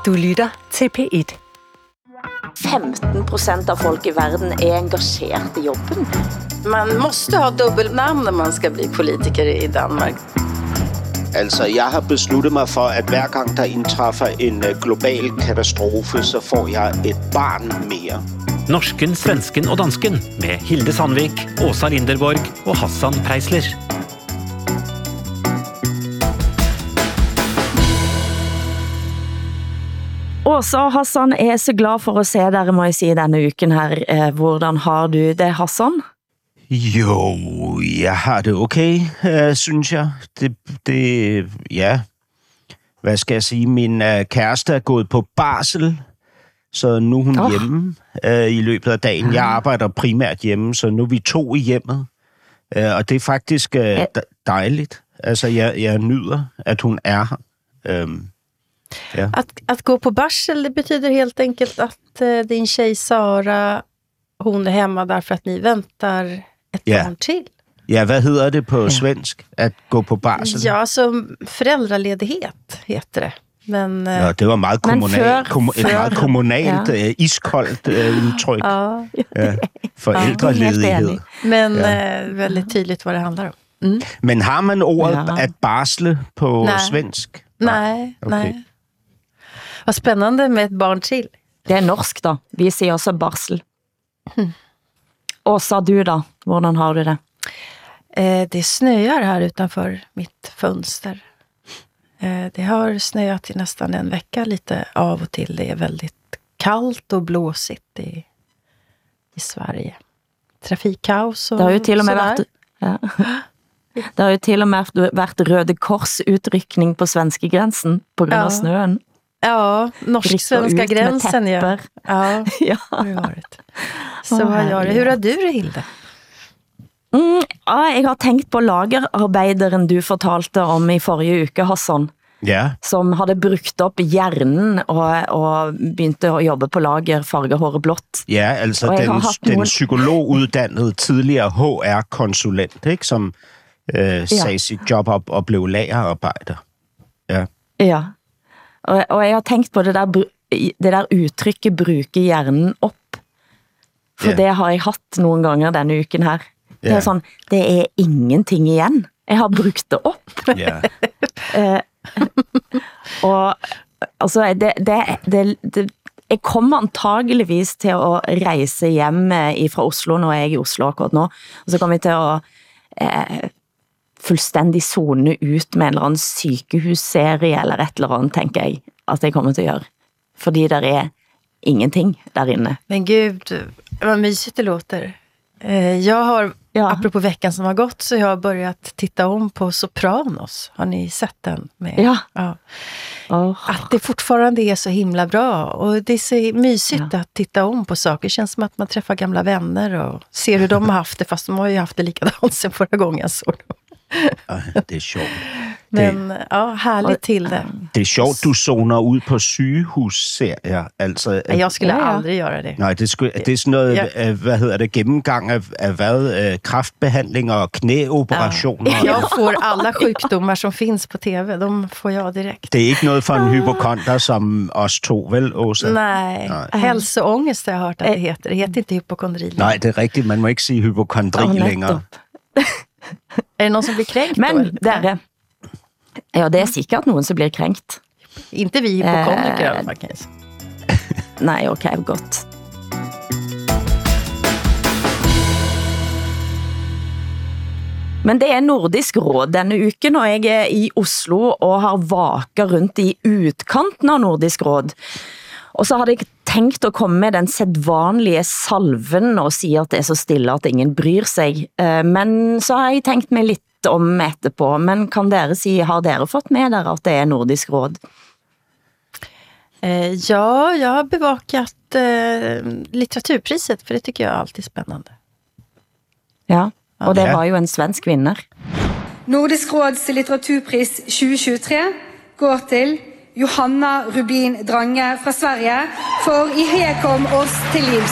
Du lytter til P1. 15% av folk i verden engagerade i jobben. Man måste ha dubbelnamn när man ska bli politiker i Danmark. Altså, jeg har besluttet mig for, at hver gang der indtræffer en global katastrofe, så får jeg et barn mere. Norsken, svensken og dansken med Hilde Sandvik, Åsa Linderborg og Hassan Preisler. Åsa og Hassan er så glad for at se dere, må jeg si, denne uken her. Hvordan har du det, Hassan? Jo, jeg har det okay, synes jeg. Ja. Hvad skal jeg sige? Min kæreste er gået på barsel, så nu er hun hjemme i løbet af dagen. Jeg arbejder primært hjemme, så nu er vi 2 i hjemmet. Og det er faktisk dejligt. Altså, jeg nyder, at hun er her. Ja. Att gå på barsel, det betyder helt enkelt att din tjej Sara, hon är hemma därför att ni väntar ett barn till. Ja, hvad hedder det på svensk? At gå på barsel? Ja, så föräldraledighet heter det. Men, ja, det var meget kommunalt, et meget kommunalt, iskoldt udtryk. Ja. Forældreledighed. Men väldigt tydligt vad det handlar om. Mm. Men har man ordet at barsle på svensk? Nej, nej. Vad spännande med ett barn till. Det er norsk da. Vi siger også barsel. Åsa, du da? Hvordan har du det? Det snöar här utanför mitt fönster. Det har snöat i nästan en vecka lite av och till. Det är väldigt kallt och blåsigt i Sverige. Trafikkaos och det har jo til og med vært, det har jo til og med vært Røde Kors utrykning på svenske gränsen på grund av snøen. Ja, norsk-svenska gränsen, ja. Ja, det har varit. Så vad gör det? Hur har du det, Hilde? Jeg har tenkt på lagerarbeideren du fortalte om i forrige uke, Hassan. Ja. Som hadde brukt op hjernen og begynte at jobbe på lager, farge håret blåt. Ja, altså den psykologuddannede tidligere HR-konsulent, ikke, som sagde sit job op og blev lagerarbejder. Ja. Ja, og jeg har tenkt på det der udtrykket bruke hjernen op. For det har jeg hatt nogle ganger denne uken her. Det er sådan, det er ingenting igen. Jeg har brugt det op. Ja. Og altså, jeg kommer antageligvis til at rejse hjem fra Oslo, når jeg er i Oslo akkurat nå. Og så kommer jeg til at fuldstændig zone ut med en eller anden sykehusserie eller et eller andet, tænker jeg, at jeg kommer til at gøre. Fordi der er ingenting derinde. Men gud, vad mysigt det låter. Jag har, apropå veckan som har gått, så jag har börjat titta om på Sopranos. Har ni sett den? Med? Ja. Att det fortfarande är så himla bra. Och det är så mysigt att titta om på saker. Det känns som att man träffar gamla vänner och ser hur de har haft det. Fast de har ju haft det likadant sen förra gången. Så. Det är sjovt. Men härligt til det. Det er sjovt, du zoner ud på sygehusserier. Altså, jeg skulle aldrig gøre det. Nej, det er sådan noget, hvad hedder det, gennemgang af hvad? Kræftbehandling og knæoperationer. Jeg får alla sjukdomar som finns på tv, de får jeg direkt. Det er ikke noget for en hypokonder som os to, vel, Åsa? Nej. Hälsoångest har jeg hørt, at det heter. Det heter ikke hypokondri. Nej, det er rigtigt. Man må ikke sige hypokondri længere. Er det nogen, som bliver krænkt? Men der ja, det er sikkert nogen, som bliver krænkt. Inte vi hypokondriker, faktisk. Nej, okay, godt. Men det er Nordisk Råd denne uken, og jeg er i Oslo og har vaket rundt i utkanten av Nordisk Råd. Og så hadde jeg tænkt at komme med den sedvanlige salven og sige, at det er så stille, at ingen bryr sig. Men så har jeg tænkt mig lidt om etterpå. Men kan dere sige, har dere fått med dere, at det er Nordisk Råd? Ja, jag har bevakat litteraturpriset, för det tycker jag är alltid spännande. Ja, og det var jo en svensk vinner. Nordisk Råds litteraturpris 2023 går til Johanna Rubin Drange fra Sverige for I Hekom oss til livs.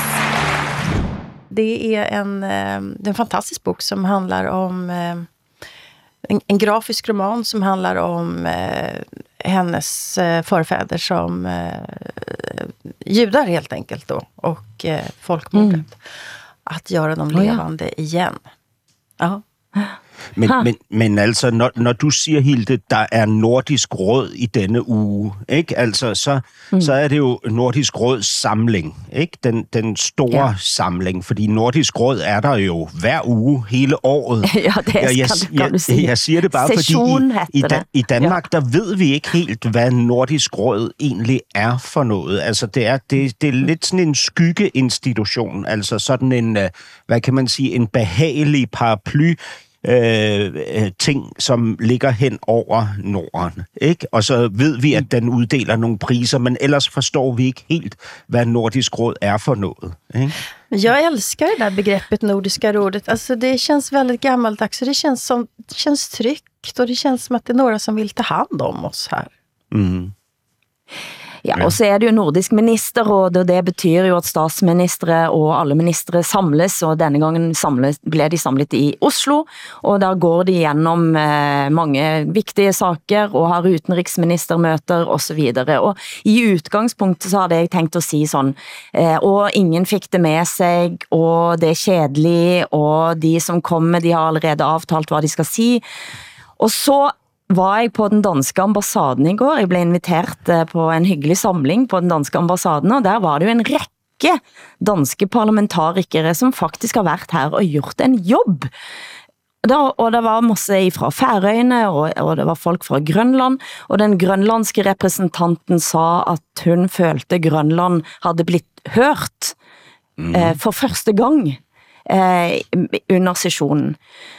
Det är en fantastisk bok som handlar om en grafisk roman som handlar om hennes förfäder som judar helt enkelt då, och folkmordet. At gøre dem levende igen. Ja. Men altså, når du siger, Hilde, der Nordisk Råd i denne uge, ikke? Altså, så det jo Nordisk Råds samling, ikke? Den store samling, fordi Nordisk Råd der jo hver uge hele året. Ja, det kan du sige. Jeg siger det bare, Session, fordi i Danmark, der ved vi ikke helt, hvad Nordisk Råd egentlig for noget. Altså, det er lidt sådan en skyggeinstitution, altså sådan en, hvad kan man sige, en behagelig paraply, ting, som ligger hen over Norden, ikke? Og så ved vi, at den uddeler nogle priser, men ellers forstår vi ikke helt, hvad Nordisk Råd for noget, ikke? Jag älskar det där begreppet Nordiska rådet. Alltså det känns väldigt gammaldags, och det känns tryggt, och det känns som att det några som vill ta hand om oss här. Ja, og så det jo Nordisk ministerråd, og det betyr jo at statsministre og alle ministre samles, og denne gangen ble de samlet i Oslo, og der går de gjennom mange viktige saker, og har utenriksministermøter og så videre. Og i utgangspunktet så hadde jeg tenkt å si sånn, og ingen fikk det med seg, og det kjedelig, og de som kommer, de har allerede avtalt hva de skal si. Og så var jeg på den danske ambassaden i går. Jeg ble invitert på en hyggelig samling på den danske ambassaden, og der var det jo en rekke danske parlamentarikere som faktisk har vært her og gjort en jobb. Og det var masse fra Færøyene, og det var folk fra Grønland, og den grønlandske representanten sa at hun følte Grønland hadde blitt hørt for første gang under sessionen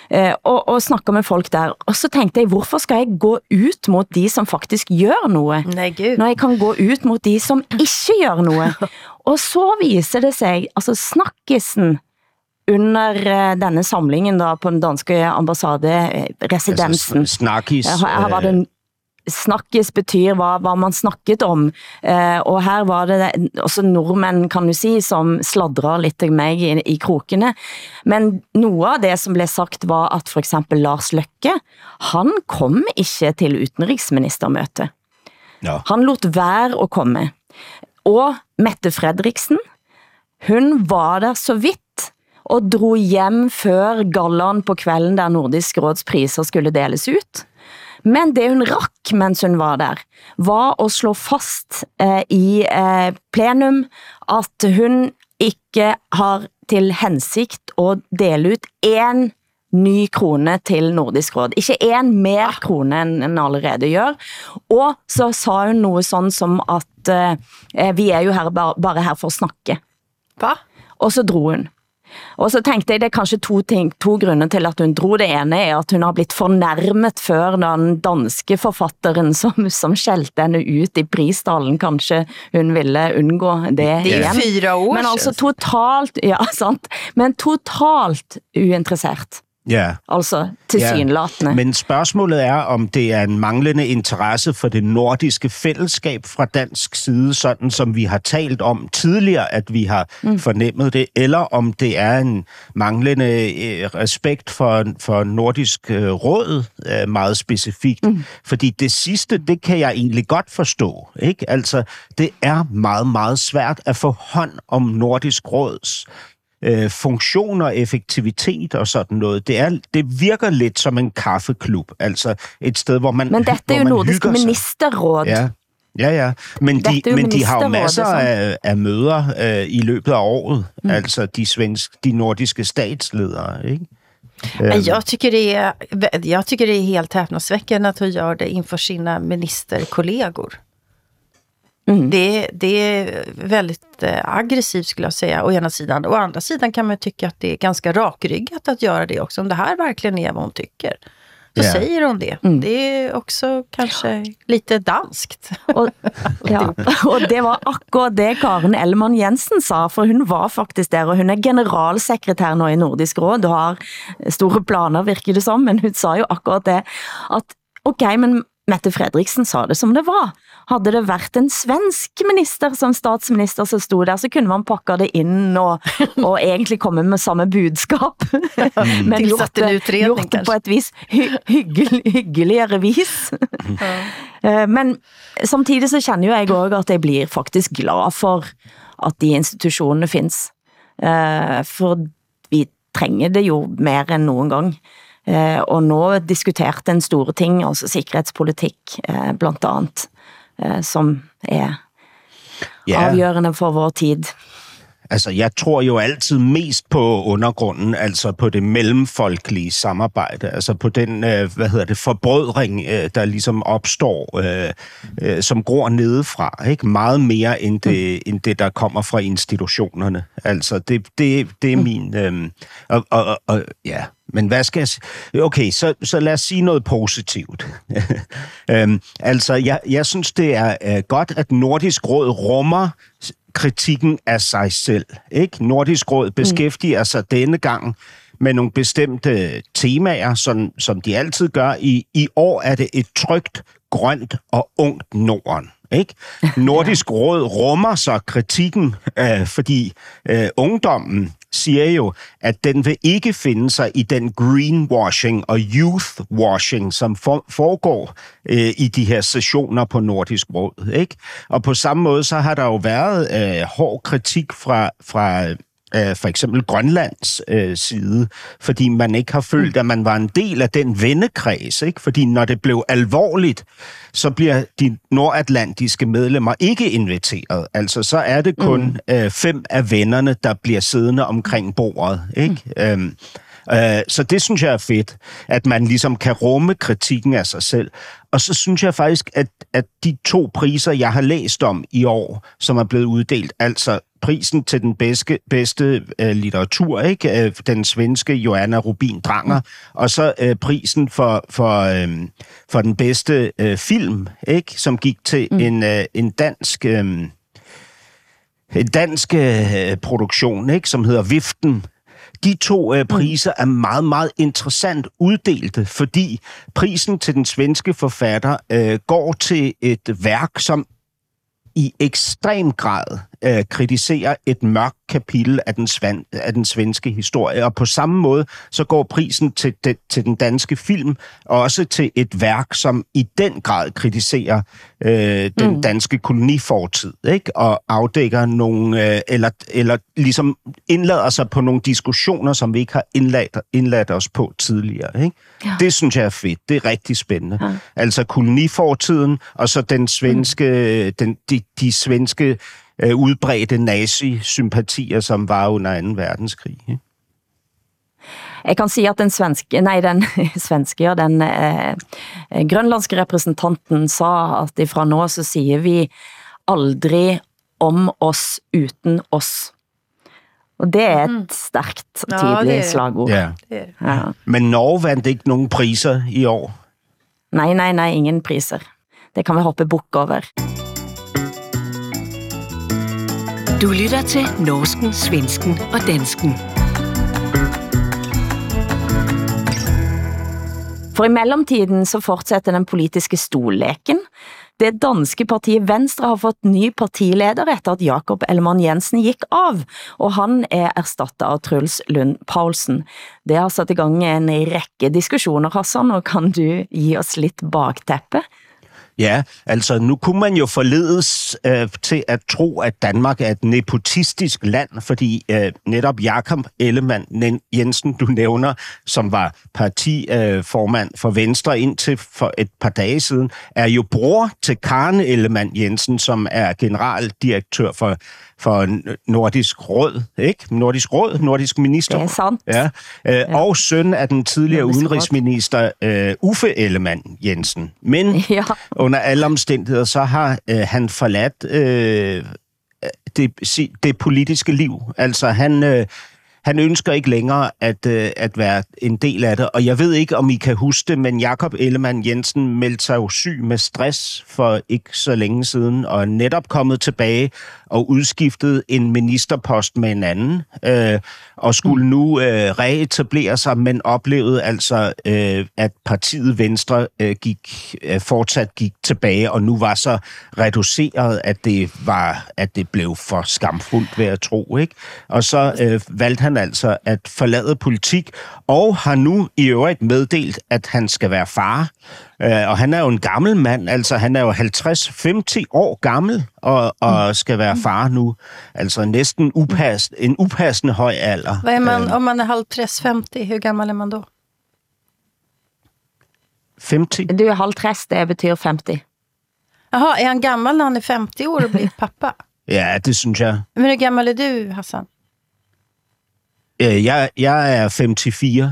og snakke med folk der, og så tenkte jeg, hvorfor skal jeg gå ut mot de som faktisk gjør noe, når jeg kan gå ut mot de som ikke gjør noe? Og så viser det seg, altså snakkisen under denne samlingen da på den danske ambassaderesidensen, her var det snakkes betyr hva man snakket om, og her var det også nordmenn, kan du si, som sladrer litt til meg i krokene, men noe av det som ble sagt var at for eksempel Lars Løkke, han kom ikke til utenriksministermøte. Ja. Han lot være å komme. Og Mette Fredriksen, hun var der så vidt, og dro hjem før gallaen på kvelden der Nordisk Råds priser skulle deles ut. Men det hun rakk mens hun var der, var å slå fast i plenum at hun ikke har til hensikt å dele ut en ny krone til Nordisk Råd. Ikke en mer krone enn allerede gjør. Og så sa hun noe sånn som at vi jo her bare her for å snakke. Hva? Og så dro hun. Og så tenkte jeg, det kanskje to grunner til at hun dro. Det ene at hun har blitt fornærmet før den danske forfatteren som skjelte henne ut i pristalen. Kanskje hun ville unngå det igjen. Det 4 år. Men altså totalt, ja, sant. Men totalt uinteressert. Ja. Altså tilsynelatende. Ja. Men spørgsmålet om det en manglende interesse for det nordiske fællesskab fra dansk side, sådan som vi har talt om tidligere, at vi har fornemmet det, eller om det en manglende respekt for Nordisk Råd meget specifikt. Fordi det sidste, det kan jeg egentlig godt forstå, ikke? Altså, det meget, meget svært at få hånd om Nordisk Råds funktion og effektivitet og sådan noget. Det virker lidt som en kaffeklub, altså et sted, hvor man men dette jo Nordisk Ministerråd. Ja. Men de har jo masser af møder i løbet af året, altså de nordiske statsledere, ikke? Jag tycker det är helt häpnadsväckande att hon gör det inför sina ministerkollegor. Det är väldigt aggressivt skulle jag säga, å ena sidan. Å andra sidan kan man tycka att det är ganska rakryggat att göra det också. Om det här verkligen är vad hon tycker, så säger hon det. Det är också kanske lite danskt. Og det var akkurat det Karen Ellemann Jensen sa, for hun var faktisk der, og hun generalsekretær nå i Nordisk Råd, og har store planer, virker det som, men hun sa jo akkurat det, at ok, men Mette Frederiksen sa det som det var. Hadde det vært en svensk minister som statsminister som stod der, så kunne man pakke det inn og egentlig komme med samme budskap. Men gjort det på et vis hyggeligere vis. Men samtidig så kjenner jo jeg også at jeg blir faktisk glad for at de institusjonene finnes. For vi trenger det jo mer enn noen gang. Og nå diskuterte en store ting, altså sikkerhetspolitikk blant annet, som afgørende for vår tid. Altså, jeg tror jo altid mest på undergrunden, altså på det mellemfolkelige samarbejde, altså på den, forbrødring, der ligesom opstår, som gror nedefra, ikke? Meget mere end det, der kommer fra institutionerne. Altså, det er min... ja... Men hvad skal jeg sige? Okay, så lad os sige noget positivt. Altså, jeg synes, det er godt, at Nordisk Råd rummer kritikken af sig selv. Ikke? Nordisk Råd beskæftiger sig denne gang med nogle bestemte temaer, som de altid gør. I år er det et trygt, grønt og ungt Norden. Ikke? Nordisk Råd rummer så kritikken, fordi ungdommen siger jo, at den vil ikke finde sig i den greenwashing og youthwashing, som foregår i de her sessioner på Nordisk Råd. Ikke? Og på samme måde, så har der jo været hård kritik fra for eksempel Grønlands side, fordi man ikke har følt, at man var en del af den vennekreds, ikke? Fordi når det blev alvorligt, så bliver de nordatlantiske medlemmer ikke inviteret. Altså, så er det kun 5 af vennerne, der bliver siddende omkring bordet, ikke? Så det synes jeg er fedt, at man ligesom kan rumme kritikken af sig selv. Og så synes jeg faktisk, at de 2 priser, jeg har læst om i år, som er blevet uddelt, altså prisen til den bedste litteratur, ikke? Den svenske Johanna Rubin Dranger, og så prisen for den bedste film, ikke? Som gik til en dansk produktion, ikke? Som hedder Viften. De 2 priser er meget, meget interessant uddelte, fordi prisen til den svenske forfatter går til et værk, som i ekstrem grad kritiserer et mørkt kapitel af den svenske historie. Og på samme måde, så går prisen til den danske film også til et værk, som i den grad kritiserer den danske kolonifortid, ikke? Og afdækker nogle, eller ligesom indlader sig på nogle diskussioner, som vi ikke har indladt os på tidligere, ikke? Ja. Det synes jeg er fedt. Det er rigtig spændende. Ja. Altså kolonifortiden, og så den svenske, de svenske udbredte nazi-sympatier, som var under 2. verdenskrig. Ikke? Jeg kan sige, at den grønlandske representanten sa, at ifra nå så siger vi aldrig om oss uten oss. Og det er et stærkt, tydeligt slagord. Ja. Ja. Men Norge vandt ikke nogen priser i år? Nej, ingen priser. Det kan vi hoppe bukk over. Du lytter til Norsken, Svensken og Dansken. For i mellemtiden så fortsætter den politiske stolleken. Det danske partiet Venstre har fått ny partileder efter at Jakob Ellemann-Jensen gik av, og han er erstattet av Truls Lund Poulsen. Det har sat i gang en række diskussioner, Hassan, og kan du give os lidt bagteppe? Ja, altså nu kunne man jo forledes til at tro, at Danmark er et nepotistisk land, fordi netop Jakob Ellemann-Jensen, du nævner, som var partiformand for Venstre indtil for et par dage siden, er jo bror til Karen Ellemann-Jensen, som er generaldirektør for Nordisk Råd, ikke? Nordisk Minister. Det er sandt. Ja. Og søn af den tidligere udenrigsminister Uffe Ellemann-Jensen. Men under alle omstændigheder, så har han forladt det politiske liv. Altså Han ønsker ikke længere at være en del af det, og jeg ved ikke, om I kan huske det, men Jakob Ellemann-Jensen meldte sig jo syg med stress for ikke så længe siden, og er netop kommet tilbage og udskiftet en ministerpost med en anden, og skulle nu reetablere sig, men oplevede altså, at partiet Venstre fortsat gik tilbage, og nu var så reduceret, at det blev for skamfuldt ved at tro, ikke? Og så valgte han altså at forlade politik, og har nu i øvrigt meddelt, at han skal være far. Og han er jo en gammel mand, altså han er jo 50-50 år gammel, og skal være far nu. Altså næsten en upassende høj alder. Hvad er man, om man er 50-50, hvor gammel er man då? 50? Du er 50, det betyder 50. Jaha, er han gammel når han er 50 år og bliver pappa? Ja, det synes jeg. Men hvor gammel er du, Hassan? Jeg er 54.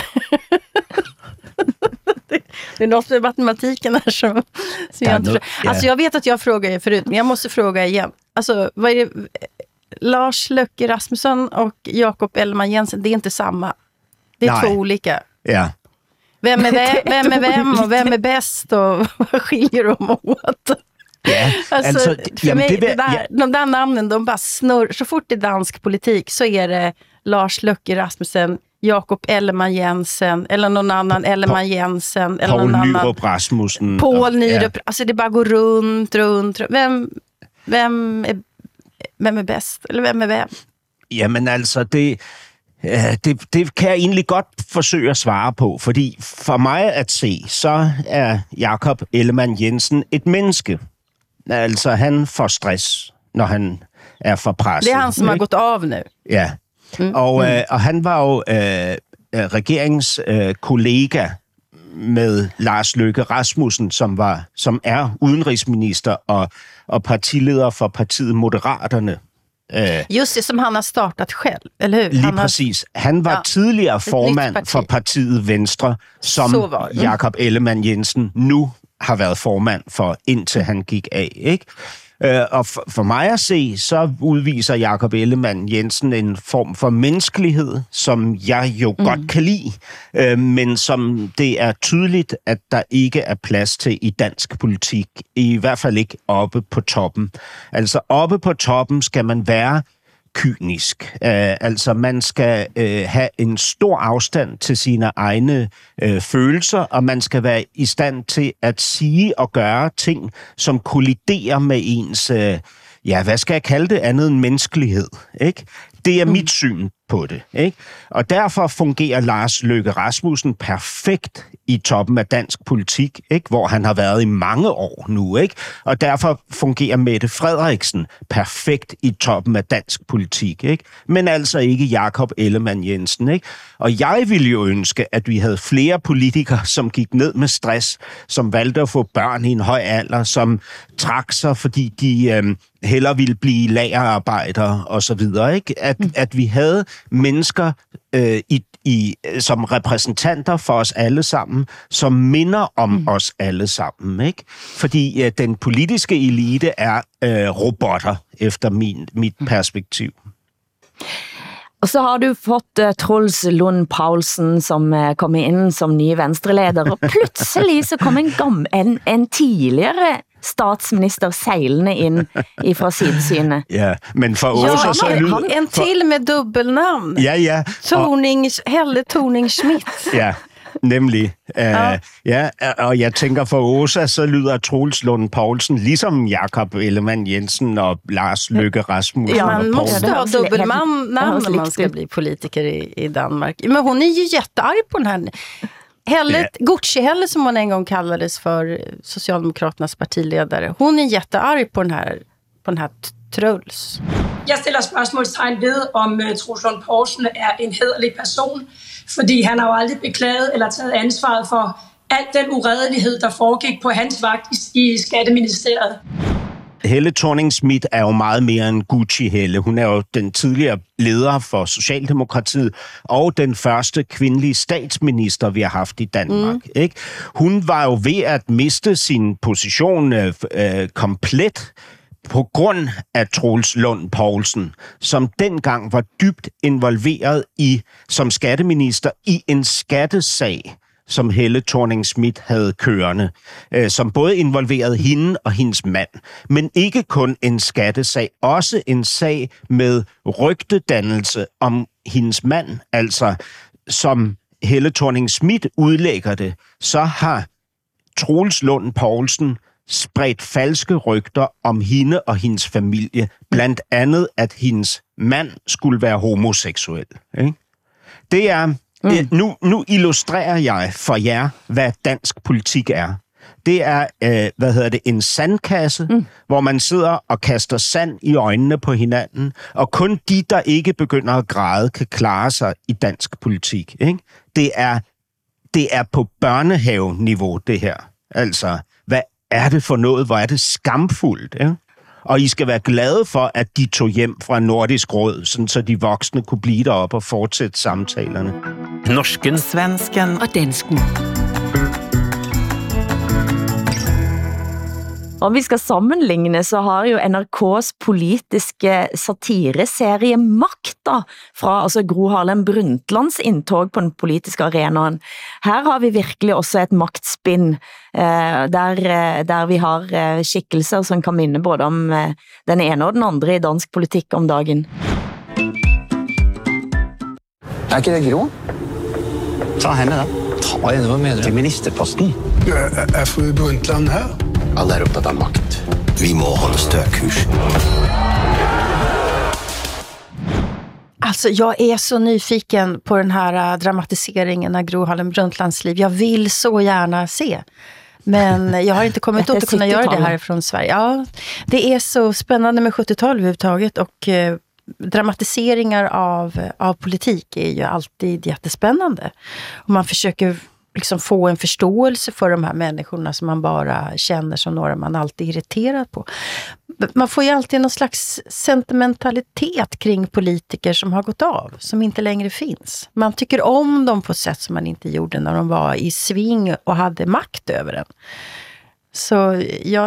Det är något med matematiken här som jag inte förstår. Alltså jag vet att jag frågar er förut, men jag måste fråga igen. Alltså, vad är det? Lars Løkke Rasmussen och Jakob Ellemann-Jensen, det är inte samma. Det är två olika. Ja. Vem är vem och vem är bäst och vad skiljer de åt? Ja, alltså för mig, de där namnen, de bara snurr. Så fort det är dansk politik så är det Lars Løkke Rasmussen, Jakob Ellemann-Jensen eller någon annan Ellemann-Jensen eller någon annan Nyrup Rasmussen. Poul Nyrup. Alltså det bara går runt. Vem är bäst? Eller vem är vem? Jamen altså, det kan jeg egentlig godt forsøge at svare på, fordi for mig at se, så er Jakob Ellemann-Jensen et menneske. Altså, han får stress, når han er for presset. Det er han, som har gået af nu. Ja. Og han var jo regeringens kollega med Lars Løkke Rasmussen, som er udenrigsminister og partileder for partiet Moderaterne. Just det, som han har startet selv, eller hur? Lige præcis. Han var tidligere formand for partiet Venstre, som Jakob Ellemann-Jensen nu har været formand for, indtil han gik af, ikke? Og for mig at se, så udviser Jakob Ellemann-Jensen en form for menneskelighed, som jeg jo godt kan lide, men som det er tydeligt, at der ikke er plads til i dansk politik. I hvert fald ikke oppe på toppen. Altså oppe på toppen skal man være kynisk. Altså man skal have en stor afstand til sine egne følelser, og man skal være i stand til at sige og gøre ting, som kolliderer med ens, hvad skal jeg kalde det, andet end menneskelighed, ikke? Det er mit syn på det, ikke? Og derfor fungerer Lars Løkke Rasmussen perfekt i toppen af dansk politik, ikke? Hvor han har været i mange år nu, ikke? Og derfor fungerer Mette Frederiksen perfekt i toppen af dansk politik, ikke? Men altså ikke Jakob Ellemann-Jensen, ikke? Og jeg ville jo ønske, at vi havde flere politikere, som gik ned med stress, som valgte at få børn i en høj alder, som trak sig, fordi de hellere ville blive lagerarbejdere og så videre, ikke? At vi havde mennesker som repræsentanter for os alle sammen, som minder om os alle sammen, ikke? Fordi den politiske elite er robotter, efter mit perspektiv. Og så har du fått Troels Lund Poulsen, som kom ind som nye venstreleder, og pludselig så kom en tidligere statsminister sejlende ind fra sidesynet. Ja, men for Åsa så lyder... En til med dubbelnavn. Ja. Helle Thorning-Schmidt. Ja, nemlig. Og jeg tænker for Åsa, så lyder Troels Lund Poulsen ligesom Jakob Ellemann-Jensen og Lars Løkke Rasmussen. Ja, man måste ha dubbelnamn när man ska bli politiker i Danmark. Men hon är ju jättearg på den här... Gucci-Helle, som hon en gång kallades för, Socialdemokraternas partiledare. Hon är jättearg på den här Truls. Jeg stiller spørgsmålstegn ved, om Troels Lund Poulsen er en hæderlig person, fordi han har jo aldrig beklaget eller taget ansvaret for al den uredelighed, der foregik på hans vagt i Skatteministeriet. Helle Thorning-Schmidt er jo meget mere end Gucci-Helle. Hun er jo den tidligere leder for Socialdemokratiet og den første kvindelige statsminister, vi har haft i Danmark. Ikke? Hun var jo ved at miste sin position komplet på grund af Troels Lund Poulsen, som dengang var dybt involveret som skatteminister i en skattesag, som Helle Thorning-Schmidt havde kørende, som både involverede hende og hendes mand. Men ikke kun en skattesag, også en sag med rygtedannelse om hendes mand. Altså, som Helle Thorning-Schmidt udlægger det, så har Troels Lund Poulsen spredt falske rygter om hende og hendes familie. Blandt andet, at hendes mand skulle være homoseksuel. Ikke? Det er... Nu illustrerer jeg for jer, hvad dansk politik er. Det er, en sandkasse, hvor man sidder og kaster sand i øjnene på hinanden, og kun de, der ikke begynder at græde, kan klare sig i dansk politik. Ikke? Det er på børnehave-niveau, det her. Altså, hvad er det for noget? Hvor er det skamfuldt, ikke? Og I skal være glade for, at de tog hjem fra Nordisk Råd, sådan så de voksne kunne blive deroppe og fortsætte samtalerne. Norsken, svensken og dansken. Om vi skal sammenligne, så har jo NRK's politiske satireserie Makta fra Gro Harlem Brundtlands indtog på den politiske arenaen. Her har vi virkelig også et magtspinn, der vi har skikkelser som kan minde både om den ene og den andre i dansk politik om dagen. Er ikke det Gro? Ta henne da. Ta henne, hvad mener du? Til ministerposten. Er fru Brundtland her? Alle er opptatt av makt. Vi må holde stø kurs. Alltså, jag är så nyfiken på den här dramatiseringen av Gro Harlem Brundtlands liv. Jag vill så gärna se. Men jag har inte kommit åt att kunna göra det här från Sverige. Ja, det är så spännande med 70-tal överhuvudtaget och dramatiseringar av politik är ju alltid jättespännande. Och man försöker liksom få en förståelse för de här människorna som man bara känner som några man alltid är irriterad på. Man får ju alltid någon slags sentimentalitet kring politiker som har gått av, som inte längre finns. Man tycker om dem på ett sätt som man inte gjorde när de var i sving och hade makt över den. Så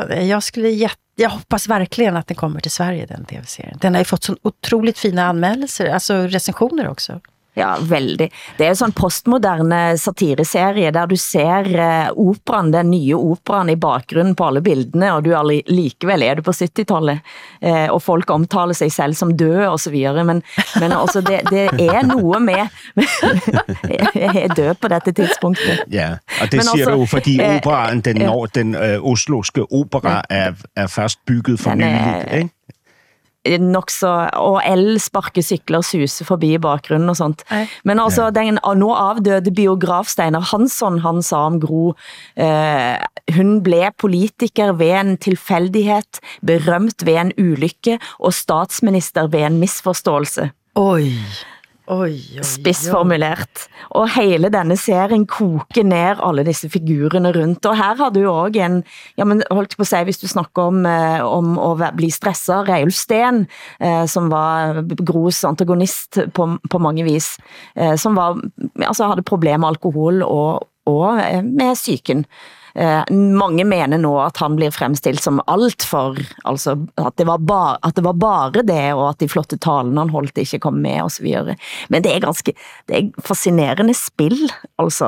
jag hoppas verkligen att den kommer till Sverige, den tv-serien. Den har ju fått så otroligt fina anmälelser, alltså recensioner också. Ja, veldig. Det er jo sånn postmoderne satireserie, der du ser operan, den nye operan i bakgrunnen på alle bildene, og du likevel er du på 70-tallet, og folk omtaler sig selv som død og så videre, men også det er noe med jeg er død på dette tidspunktet. Ja, og det men siger også, du, fordi operaen, den osloske opera er først bygget for nyligt, ikke? Nok så, og elsparkesykler suser forbi i bakgrunnen og sånt. Men altså, den nå avdøde biograf Steinar Hansson, han sa om Gro, hun ble politiker ved en tilfældighed, berømt ved en ulykke, og statsminister ved en misforståelse. Oj. Spissformulert. Og hele denne serien koker ned alle disse figurerne rundt. Og her har du jo også en, ja, men holdt på å si, hvis du snakker om å bli stresset, Reiulf Steen, som var Gros antagonist på mange vis, som var, altså hadde problemer med alkohol og med psyken. Mange mener nå at han blir fremstilt som alt for, altså at det var bare det, og at de flotte talene han holdt ikke kom med og så videre. Men det er fascinerende spill, altså,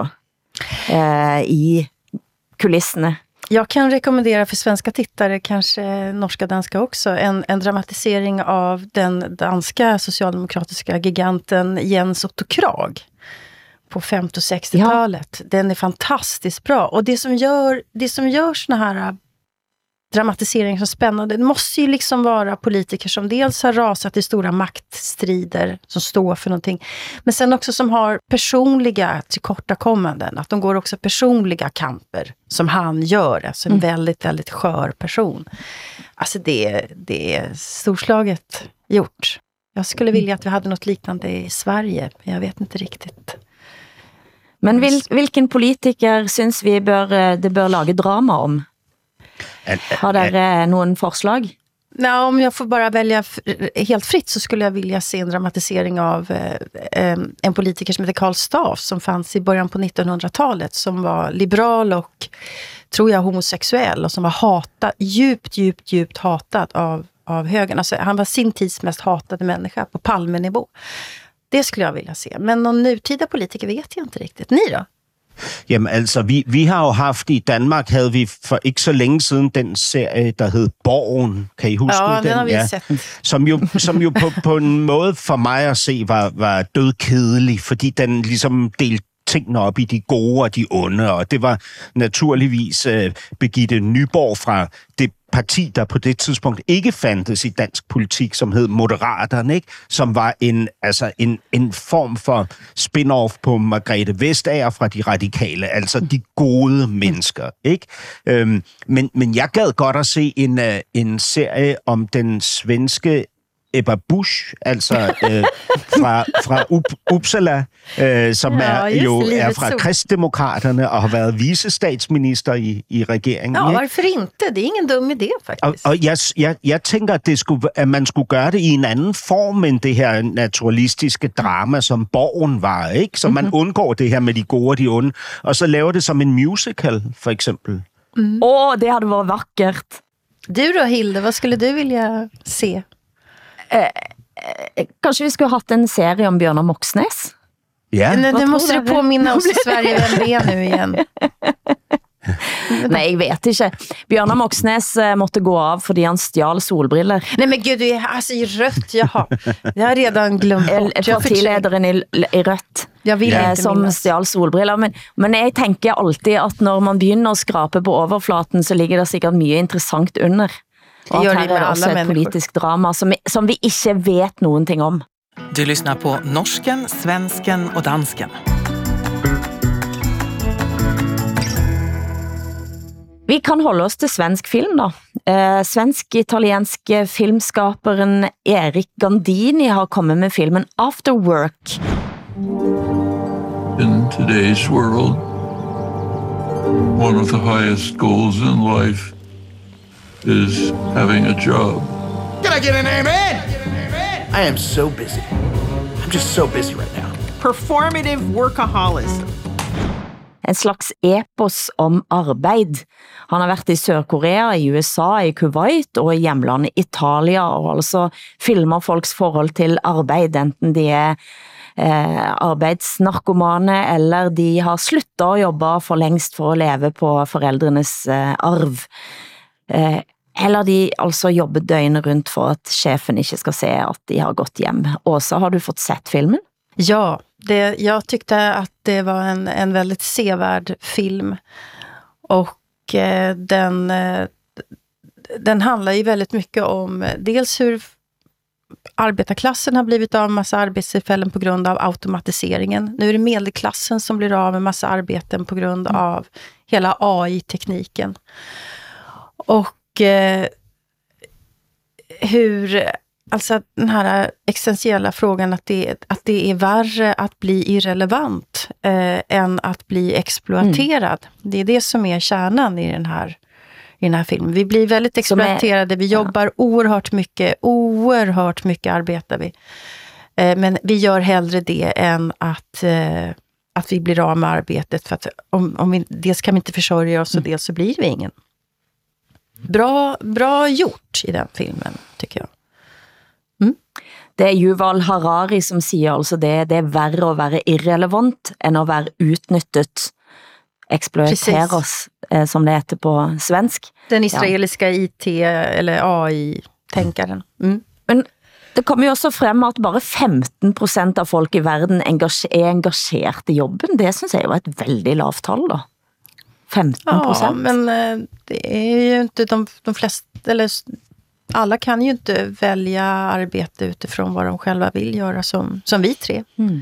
i kulissene. Jag kan rekommendera för svenska tittare, kanske norska danska också, en dramatisering av den danska socialdemokratiska giganten Jens Otto Krag på 50- och 60-talet. Ja. Den är fantastiskt bra. Och det som gör såna här dramatiseringar så spännande, det måste ju liksom vara politiker som dels har rasat i stora maktstrider som står för någonting, men sen också som har personliga tillkortakommanden, att de går också personliga kamper som han gör, alltså en väldigt, väldigt skör person. Alltså det är storslaget gjort. Jag skulle vilja att vi hade något liknande i Sverige, men jag vet inte riktigt. Men hvilken politiker synes vi det bør lage drama om? Har dere nogen forslag? Nej, om jag får bara välja helt fritt så skulle jag vilja se en dramatisering av en politiker som heter Karl Staaff som fanns i början på 1900-talet som var liberal och tror jag homosexuell och som var djupt hatad av högern. Alltså, han var sin tids mest hatade människa på Palmenivå. Det skulle jag vilja se. Men någon nutida politiker vet jag inte riktigt. Ni då? Jamen altså, vi har jo haft i Danmark, havde vi for ikke så længe siden den serie, der hed Borgen. Kan I huske den? Den har vi set. Som jo på en måde for mig at se var dødkedelig, fordi den ligesom delte tingene op i de gode og de onde, og det var naturligvis Birgitte Nyborg fra det parti, der på det tidspunkt ikke fandtes i dansk politik, som hed Moderaterne, ikke? Som var en form for spin-off på Margrethe Vestager fra de radikale, altså de gode mennesker, ikke? Men jeg gad godt at se en serie om den svenske Ebba Busch, altså fra Uppsala, som er fra Kristdemokraterne og har været vicestatsminister i regeringen. Ja, varför inte? Det är ingen dum idé faktiskt. Og jeg tænker, at man skulle gøre det i en anden form end det her naturalistiske drama, som Borgen var, ikke? Så man undgår det her med de gode og de onde, og så laver det som en musical, for eksempel. Det hade varit vackert. Du då, Hilde, vad skulle du vilja se? Kanske vi skulle haft en serie om Bjørnar Moxnes? Ja. Nu måste du påminna oss i Sverige vem det är nu igen. Nej, jag vet inte. Bjørnar Moxnes måtte gå av fordi han stjal solbriller. Nej men gud, du är alltså i rött, jaha. Jag har redan glömt bort. Partilederen i rött. Jag vill inte som stjal solbriller. Men jag tänker alltid att när man begynner att skrape på overflaten så ligger det sikkert mye interessant under. Og at her er det også et politisk drama som vi ikke vet någonting om. Du lyssnar på Norsken, Svensken och Dansken. Vi kan holde oss til svensk film da. Svensk-italienske filmskaperen Erik Gandini har kommet med filmen After Work. In today's world, one of the highest goals in life is having a job. Can I get an amen? I am so busy. I'm just so busy right now. Performative workaholism. En slags epos om arbeid. Han har vært i Sør-Korea, i USA, i Kuwait og i hjemlandet Italia, og altså filmer folks forhold til arbeid, enten de er arbeidsnarkomane, eller de har sluttet å jobbe for lengst for å leve på foreldrenes arv. Eller de altså jobber døgnet rundt for at sjefen ikke skal se at de har gått hjem. Åsa, har du fått sett filmen? Ja, jag tyckte att det var en väldigt sevärd film. Och den handlar ju väldigt mycket om dels hur arbetarklassen har blivit av med massa arbetstillfällen på grund av automatiseringen. Nu är det medelklassen som blir av med massa arbeten på grund av hela AI-tekniken. Och hur, alltså den här existentiella frågan att det är värre att bli irrelevant än att bli exploaterad. Det är det som är kärnan i den här filmen. Vi blir väldigt exploaterade, vi jobbar oerhört mycket arbetar vi. Men vi gör hellre det än att vi blir av med arbetet, för att om vi, dels kan vi inte försörja oss och dels så blir vi ingen. Bra gjort i den filmen, tycker jag. Det är Yuval Harari som säger alltså det är värre att vara irrelevant än att vara utnyttet, exploateras, som det heter på svensk. Den israeliska IT eller AI-tänkaren. Men det kommer ju också fram att bara 15% av folk i världen är engagerade i jobben. Det synes jag var ett väldigt lavt tal då. 15%. Ja, men det är ju inte de flesta, eller alla kan ju inte välja arbete utifrån vad de själva vill göra som vi tre.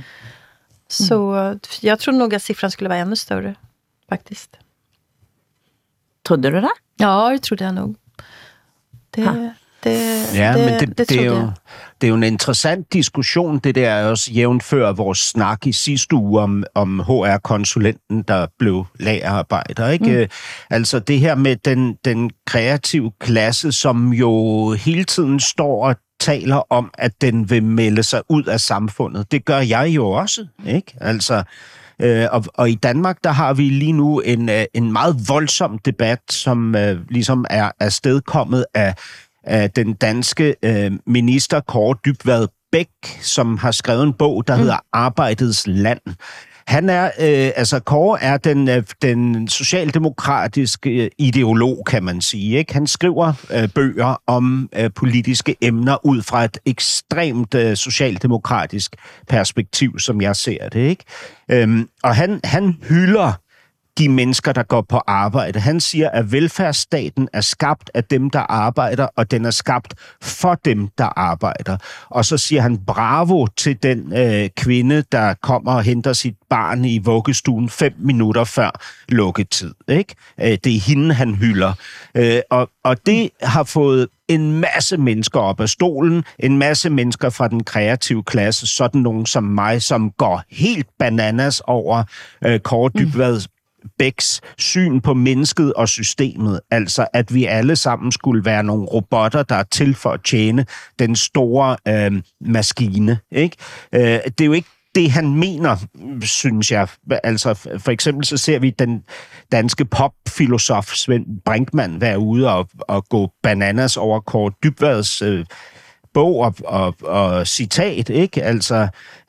Så jag tror nog att siffran skulle vara ännu större, faktiskt. Trodde du det? Ja, det trodde jag nog. Det det er jo en interessant diskussion, det der er også jævnfør vores snak i sidste uge om HR-konsulenten, der blev lagerarbejder, ikke? Altså det her med den kreative klasse, som jo hele tiden står og taler om, at den vil melde sig ud af samfundet. Det gør jeg jo også, ikke? Altså, og i Danmark, der har vi lige nu en meget voldsom debat, som ligesom er afstedkommet af den danske minister Kaare Dybvad Bek, som har skrevet en bog, der hedder Arbejdets Land. Han er, Kaare er den socialdemokratiske ideolog, kan man sige, ikke? Han skriver bøger om politiske emner ud fra et ekstremt socialdemokratisk perspektiv, som jeg ser det, ikke? Og han hylder de mennesker, der går på arbejde. Han siger, at velfærdsstaten er skabt af dem, der arbejder, og den er skabt for dem, der arbejder. Og så siger han bravo til den kvinde, der kommer og henter sit barn i vuggestuen 5 minutter før lukketid. Ikke? Det er hende, han hylder. Og det har fået en masse mennesker op af stolen, en masse mennesker fra den kreative klasse, sådan nogen som mig, som går helt bananas over Kaare Dybvad Beks syn på mennesket og systemet, altså at vi alle sammen skulle være nogle robotter, der er til for at tjene den store maskine. Ikke? Det er jo ikke det, han mener, synes jeg. Altså, for eksempel så ser vi den danske popfilosof Svend Brinkmann være ude og gå bananas over Kaare Dybvads bog og citat, ikke? Altså,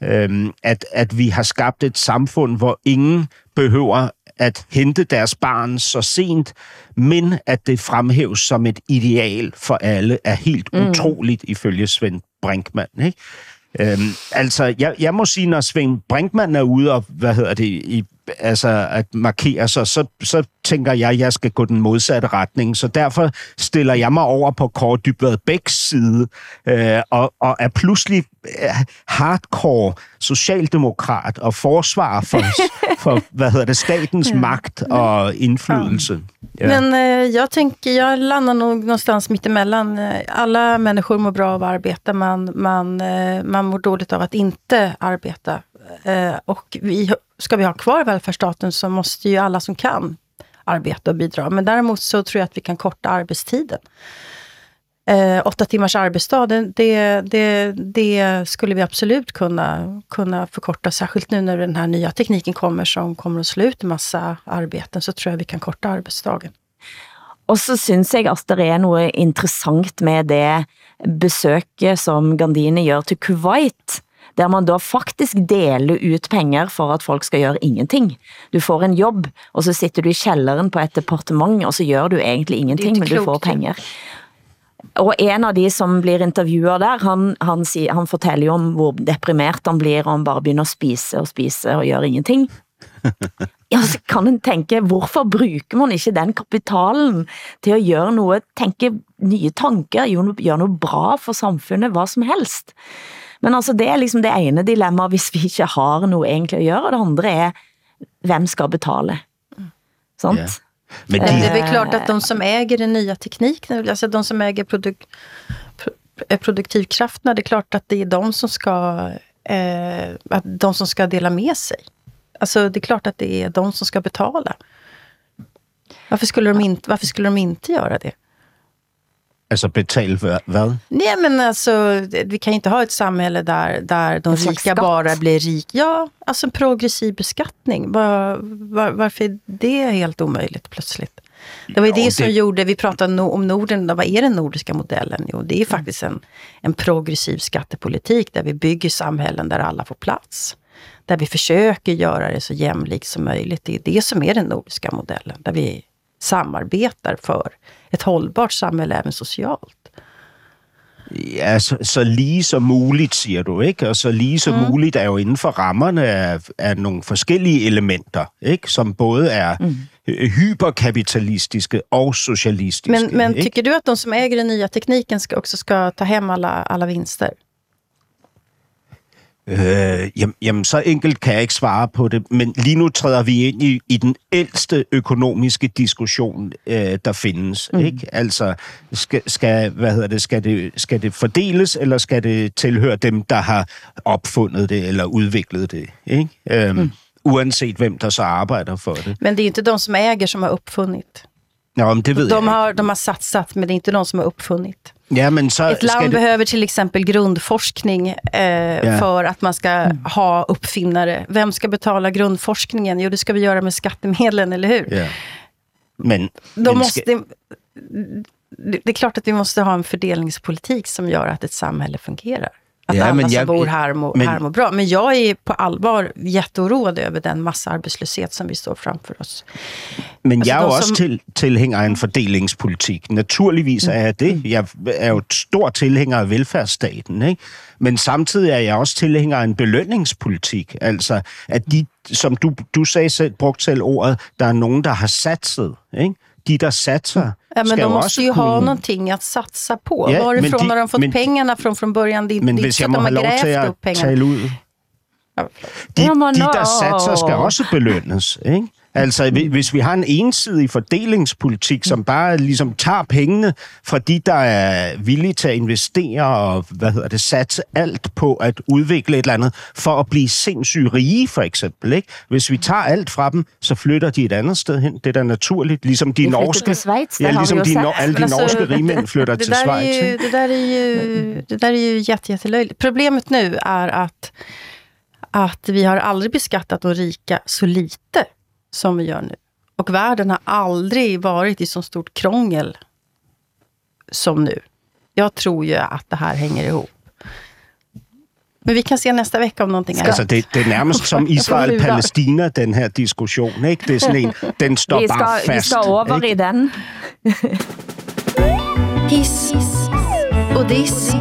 at vi har skabt et samfund, hvor ingen behøver at hente deres barn så sent, men at det fremhæves som et ideal for alle, er helt utroligt ifølge Svend Brinkmann, ikke? Jeg må sige, når Svend Brinkmann er ude og, at markere sig, så tænker jeg skal gå den modsatte retning. Så derfor stiller jeg mig over på Kaare Dybvad Beks side, og er pludselig hardcore socialdemokrat og forsvarer for statens magt og indflydelse. Ja. Men jag landar nog någonstans mittemellan. Alla människor mår bra av att arbeta, man mår dåligt av att inte arbeta. Och ska vi ha kvar välfärdsstaten så måste ju alla som kan arbeta och bidra. Men däremot så tror jag att vi kan korta arbetstiden. 8 timmars arbetsdag, det skulle vi absolut kunna förkorta, särskilt nu när den här nya tekniken kommer som kommer att slå ut en massa arbeten, så tror jag vi kan korta arbetsdagen. Og så synes jeg at det er noget interessant med det besøket, som Gandini gør til Kuwait, der man da faktisk deler ut penger for at folk skal gøre ingenting. Du får en jobb, og så sitter du i kjelleren på et departement, og så gør du egentlig ingenting, men du får penger. Og en av de som blir intervjuet der, han fortæller jo om hvor deprimert han blir, og han bare begynder at spise og gøre ingenting. Ja, så kan man tænke, hvorfor bruger man ikke den kapitalen til at gøre noget, tænke nye tanker, gøre noget bra for samfundet, hvad som helst. Men altså, det er liksom det ene dilemma, hvis vi ikke har noget egentlig at gøre, og det andre er, hvem skal betale? Sånt? Yeah. Men det är väl klart att de som äger den nya tekniken, alltså de som äger produktivkrafterna, det är klart att det är de som ska dela med sig. Alltså det är klart att det är de som ska betala. Varför skulle de inte göra det? Altså betale for hvad? Nej, men alltså vi kan inte ha ett samhälle där de rika bara blir rik. Ja, alltså en progressiv beskattning. Varför är det helt omöjligt plötsligt? Det var ju det som gjorde, vi pratade om Norden, vad är den nordiska modellen? Jo, det är faktiskt en progressiv skattepolitik där vi bygger samhällen där alla får plats. Där vi försöker göra det så jämlikt som möjligt. Det är det som är den nordiska modellen. Där vi samarbetar för ett hållbart samhälle även socialt. Ja, så lige som muligt, siger du, ikke? Og så lige som muligt er jo inden for rammerne af nogle forskellige elementer, ikke? Som både er hyperkapitalistiske og socialistiske. Men tycker du att de som äger den nya tekniken också ska ta hem alla vinster? Jamen, så enkelt kan jeg ikke svare på det, men lige nu træder vi ind i den ældste økonomiske diskussion, der findes. Ikke? Altså, skal det fordeles, eller skal det tilhøre dem, der har opfundet det eller udviklet det? Ikke? Uanset hvem der så arbejder for det. Men det är inte de som äger som har uppfunnit. Ja, men det ved de har satsat, men det är inte de som har uppfunnit. Ja, men så ett land behöver till exempel grundforskning för att man ska ha uppfinnare. Vem ska betala grundforskningen? Jo, det ska vi göra med skattemedlen, eller hur? Ja. Men det är klart att vi måste ha en fördelningspolitik som gör att ett samhälle fungerar. Att alla som bor här mår bra. Men jag är på allvar jätteoroad över den massarbetslöshet som vi står framför oss. Men jeg er jo også tilhænger af en fordelingspolitik. Naturligvis er jeg det. Jeg er jo stor tilhænger af velfærdsstaten, ikke? Men samtidig er jeg også tilhænger af en belønningspolitik. Altså, at de, som du sagde selv, brugte selv ordet, der er nogen, der har satset, ikke? De, der satser, men de måste ju ha någonting att satsa på. Ja, varifrån har de fått pengarna från början? Det är inte så att de har grävt upp pengarna. De, der satser, skal også belønnes, ikke? Altså, hvis vi har en ensidig fordelingspolitik, som bare ligesom tager pengene fra de, der er villige til at investere og, satse alt på at udvikle et eller andet, for at blive sindssygt rige, for eksempel, ikke? Hvis vi tager alt fra dem, så flytter de et andet sted hen. Det er da naturligt, ligesom de norske... ligesom alle de norske rigmænd flytter til Schweiz. Det där är ju jättelöjligt. Problemet nu är att vi har aldrig beskattat de rika så lite som vi gör nu. Och världen har aldrig varit i så stort krångel som nu. Jag tror ju att det här hänger ihop. Men vi kan se nästa vecka om någonting annat. Altså, det er nærmest som Israel-Palæstina, den her diskussion, ikke? Det er sådan en, den står bare fast. Vi skal over ikke? I den. Hiss og diss.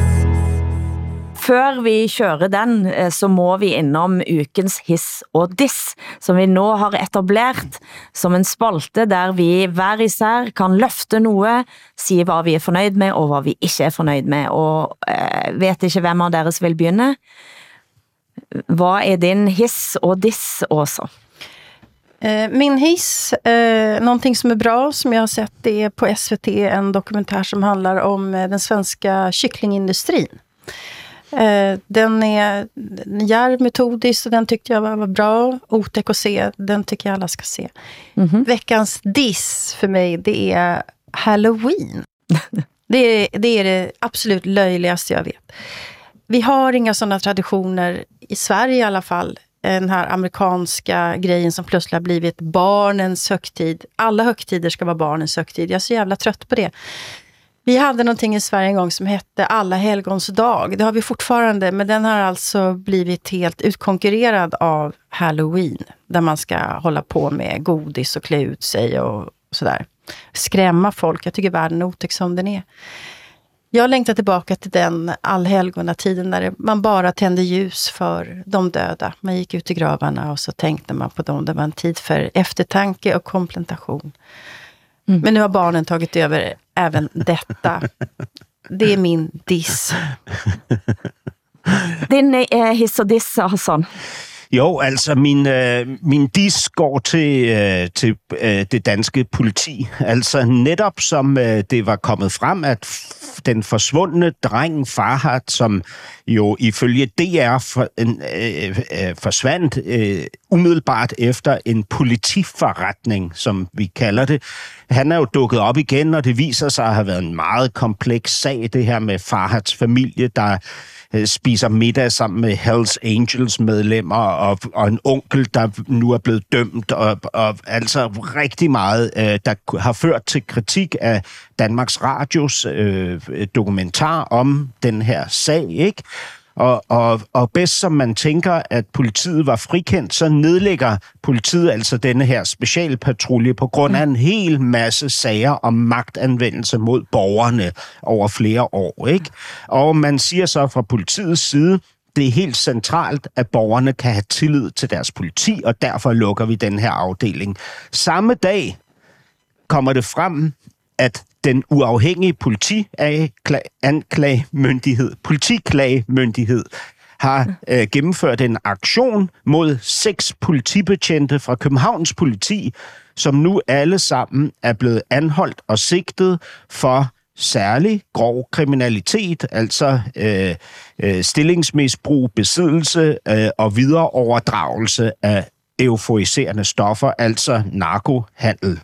Før vi kører den, så må vi innom ukens hiss og diss, som vi nå har etableret som en spalte, der vi hver især kan løfte noe, si hvad vi er fornøyd med, og hvad vi ikke er fornøyd med, og vet ikke hvem av deres vil begynne. Hvad er din hiss og diss også? Min hiss, någonting som är bra som jag har sett, det är på SVT en dokumentär som handlar om den svenska kycklingindustrin. Den är djärv metodisk och den tyckte jag var bra. Otäck att se, den tycker jag alla ska se. Veckans diss för mig, det är Halloween. Det är det absolut löjligaste jag vet. Vi har inga sådana traditioner i Sverige i alla fall. Den här amerikanska grejen som plötsligt har blivit barnens högtid. Alla högtider ska vara barnens högtid. Jag är så jävla trött på det. Vi hade någonting i Sverige en gång som hette Alla helgons dag. Det har vi fortfarande, men den har alltså blivit helt utkonkurrerad av Halloween. Där man ska hålla på med godis och klä ut sig och sådär. Skrämma folk. Jag tycker världen är otäck som den är. Jag längtar tillbaka till den allhelgonatiden där man bara tände ljus för de döda. Man gick ut i gravarna och så tänkte man på dem. Det var en tid för eftertanke och komplementation. Men nu har barnen tagit över även detta. Det är min diss. Din hiss og diss, Hassan? Jo, altså min diss går til det danske politi. Altså netop som det var kommet frem, at den forsvundne dreng Farhad, som jo ifølge DR forsvandt umiddelbart efter en politiforretning, som vi kalder det. Han er jo dukket op igen, og det viser sig at have været en meget kompleks sag, det her med Farhads familie, der spiser middag sammen med Hells Angels medlemmer og en onkel, der nu er blevet dømt, og altså rigtig meget, der har ført til kritik af Danmarks Radios dokumentar om den her sag, ikke? Og bedst som man tænker, at politiet var frikendt, så nedlægger politiet altså denne her specialpatrulje på grund af en hel masse sager om magtanvendelse mod borgerne over flere år, ikke? Og man siger så fra politiets side, det er helt centralt, at borgerne kan have tillid til deres politi, og derfor lukker vi den her afdeling. Samme dag kommer det frem, at den uafhængige politiklagemyndighed har gennemført en aktion mod 6 politibetjente fra Københavns politi, som nu alle sammen er blevet anholdt og sigtet for særlig grov kriminalitet, altså stillingsmisbrug, besiddelse og videre overdragelse af euforiserende stoffer, altså narkohandel.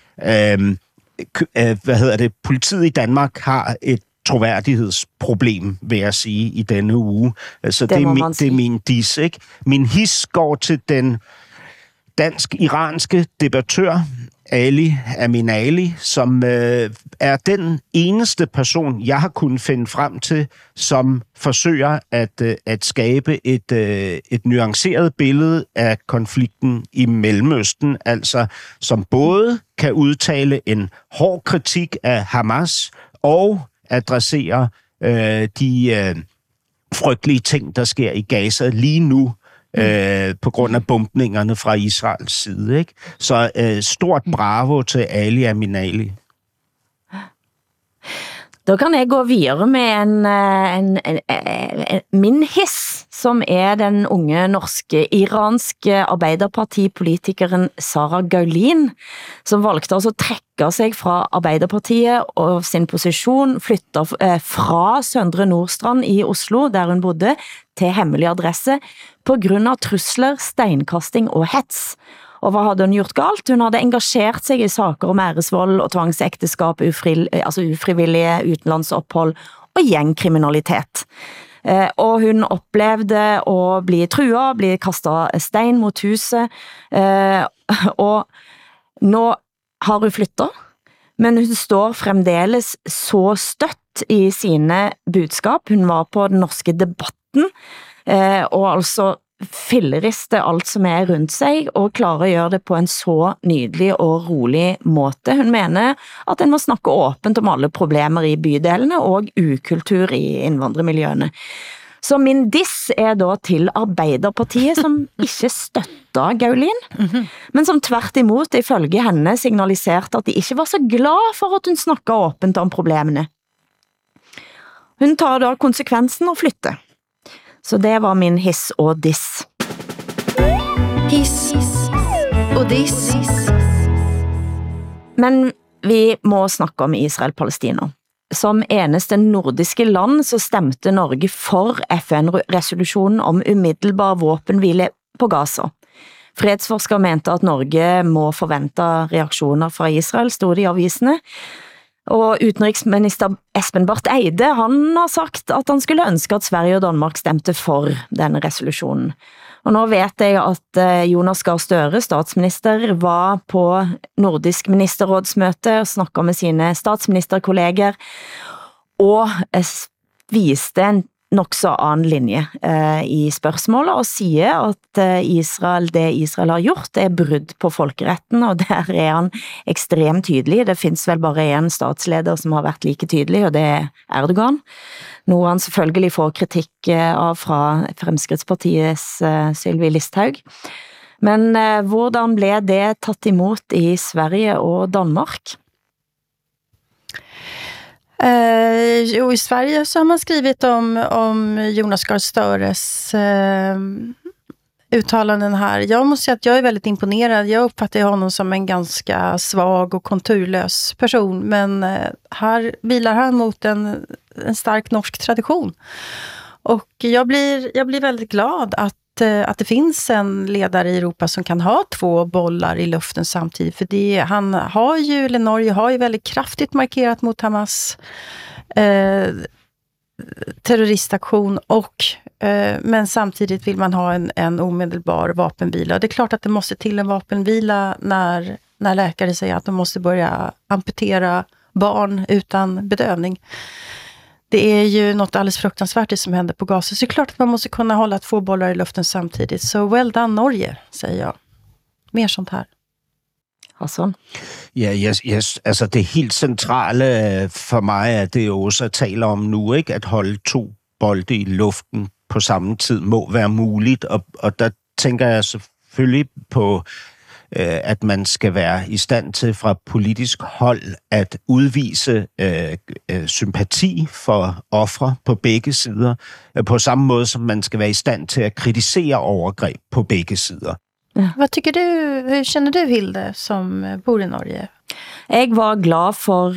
Politiet i Danmark har et troværdighedsproblem, vil jeg sige, i denne uge. Altså, det er min diss, ikke? Min his går til den dansk-iranske debattør, Ali Aminali, som er den eneste person, jeg har kunnet finde frem til, som forsøger at skabe et nuanceret billede af konflikten i Mellemøsten, altså som både kan udtale en hård kritik af Hamas og adressere de frygtelige ting, der sker i Gaza lige nu, på grund af bombningerne fra Israels side, ikke? Så stort bravo til Ali Aminali. Da kan jeg gå videre med min hiss, som er den unge norske iranske arbeiderpartipolitikeren Sara Gaulin, som valgte altså at trekke sig fra Arbeiderpartiet og sin position, flytter fra Søndre Nordstrand i Oslo, der hun bodde, til hemmelig adresse, på grund av trusler, steinkasting og hets. Og hvad havde hun gjort galt? Hun havde engageret sig i saker om æresvold og tvangsekteskab, ufrivillige utenlandsophold og gjengkriminalitet. Og hun oplevede at blive truet, blive kastet stein mot huset, og nå har hun flyttet, men hun står fremdeles så støtt i sine budskap. Hun var på den norske debatten, og altså filleriste alt som er rundt sig, og klarer at gøre det på en så nydelig og rolig måte. Hun mener at en må snakke åbent om alle problemer i bydelene og ukultur i indvandrermiljøene. Så min diss er da til Arbeiderpartiet, som ikke støtter Gaulin, men som tvert imot ifølge henne signaliserte at de ikke var så glad for at hun snakket åbent om problemene. Hun tar da konsekvensen og flytter. Så det var min hiss og diss. Hiss og diss. Men vi må snakke om Israel-Palestina. Som eneste nordiske land så stemte Norge for FN-resolutionen om umiddelbar våpenhvile på Gaza. Fredsforskere mente at Norge må forvente reaktioner fra Israel, stod det i avisene. Og utenriksminister Espen Barth Eide, han har sagt at han skulle ønske at Sverige og Danmark stemte for denne resolutionen. Og nå vet jeg at Jonas Gahr Støre, statsminister, var på nordisk ministerrådsmøte og snakket med sine statsministerkolleger og viste en nok så annen linje i spørgsmålet og siger at det Israel har gjort er brudd på folkeretten, og der er han ekstremt tydelig. Det findes vel bare en statsleder som har vært like tydelig, og det er Erdogan. Noe han selvfølgelig får kritikk av fra Fremskrittspartiets Sylvi Listhaug. Men hvordan blev det tatt imot i Sverige og Danmark? Jo, i Sverige så har man skrivit om Jonas Gahr Støres uttalanden här. Jag måste säga att jag är väldigt imponerad. Jag uppfattar honom som en ganska svag och konturlös person, men här vilar han mot en stark norsk tradition. Och jag blir väldigt glad att det finns en ledare i Europa som kan ha 2 bollar i luften samtidigt. För Norge har ju väldigt kraftigt markerat mot Hamas terroristaktion men samtidigt vill man ha en omedelbar vapenvila. Det är klart att det måste till en vapenvila när läkare säger att de måste börja amputera barn utan bedövning. Det är ju något alldeles fruktansvärt det som händer på Gaza. Så det är klart att man måste kunna hålla 2 bollar i luften samtidigt. Så well done Norge, säger jag. Mer sånt här. Hassan? Ja, yes, altså det helt centrale for mig er det jo også at tale om nu, ikke? At holde 2 bolde i luften på samme tid må være muligt, og der tænker jeg selvfølgelig på at man skal være i stand til fra politisk hold at udvise sympati for ofre på begge sider, på samme måde som man skal være i stand til at kritisere overgreb på begge sider. Ja. Vad tycker du, hur känner du, Hilde, som bor i Norge? Jeg var glad for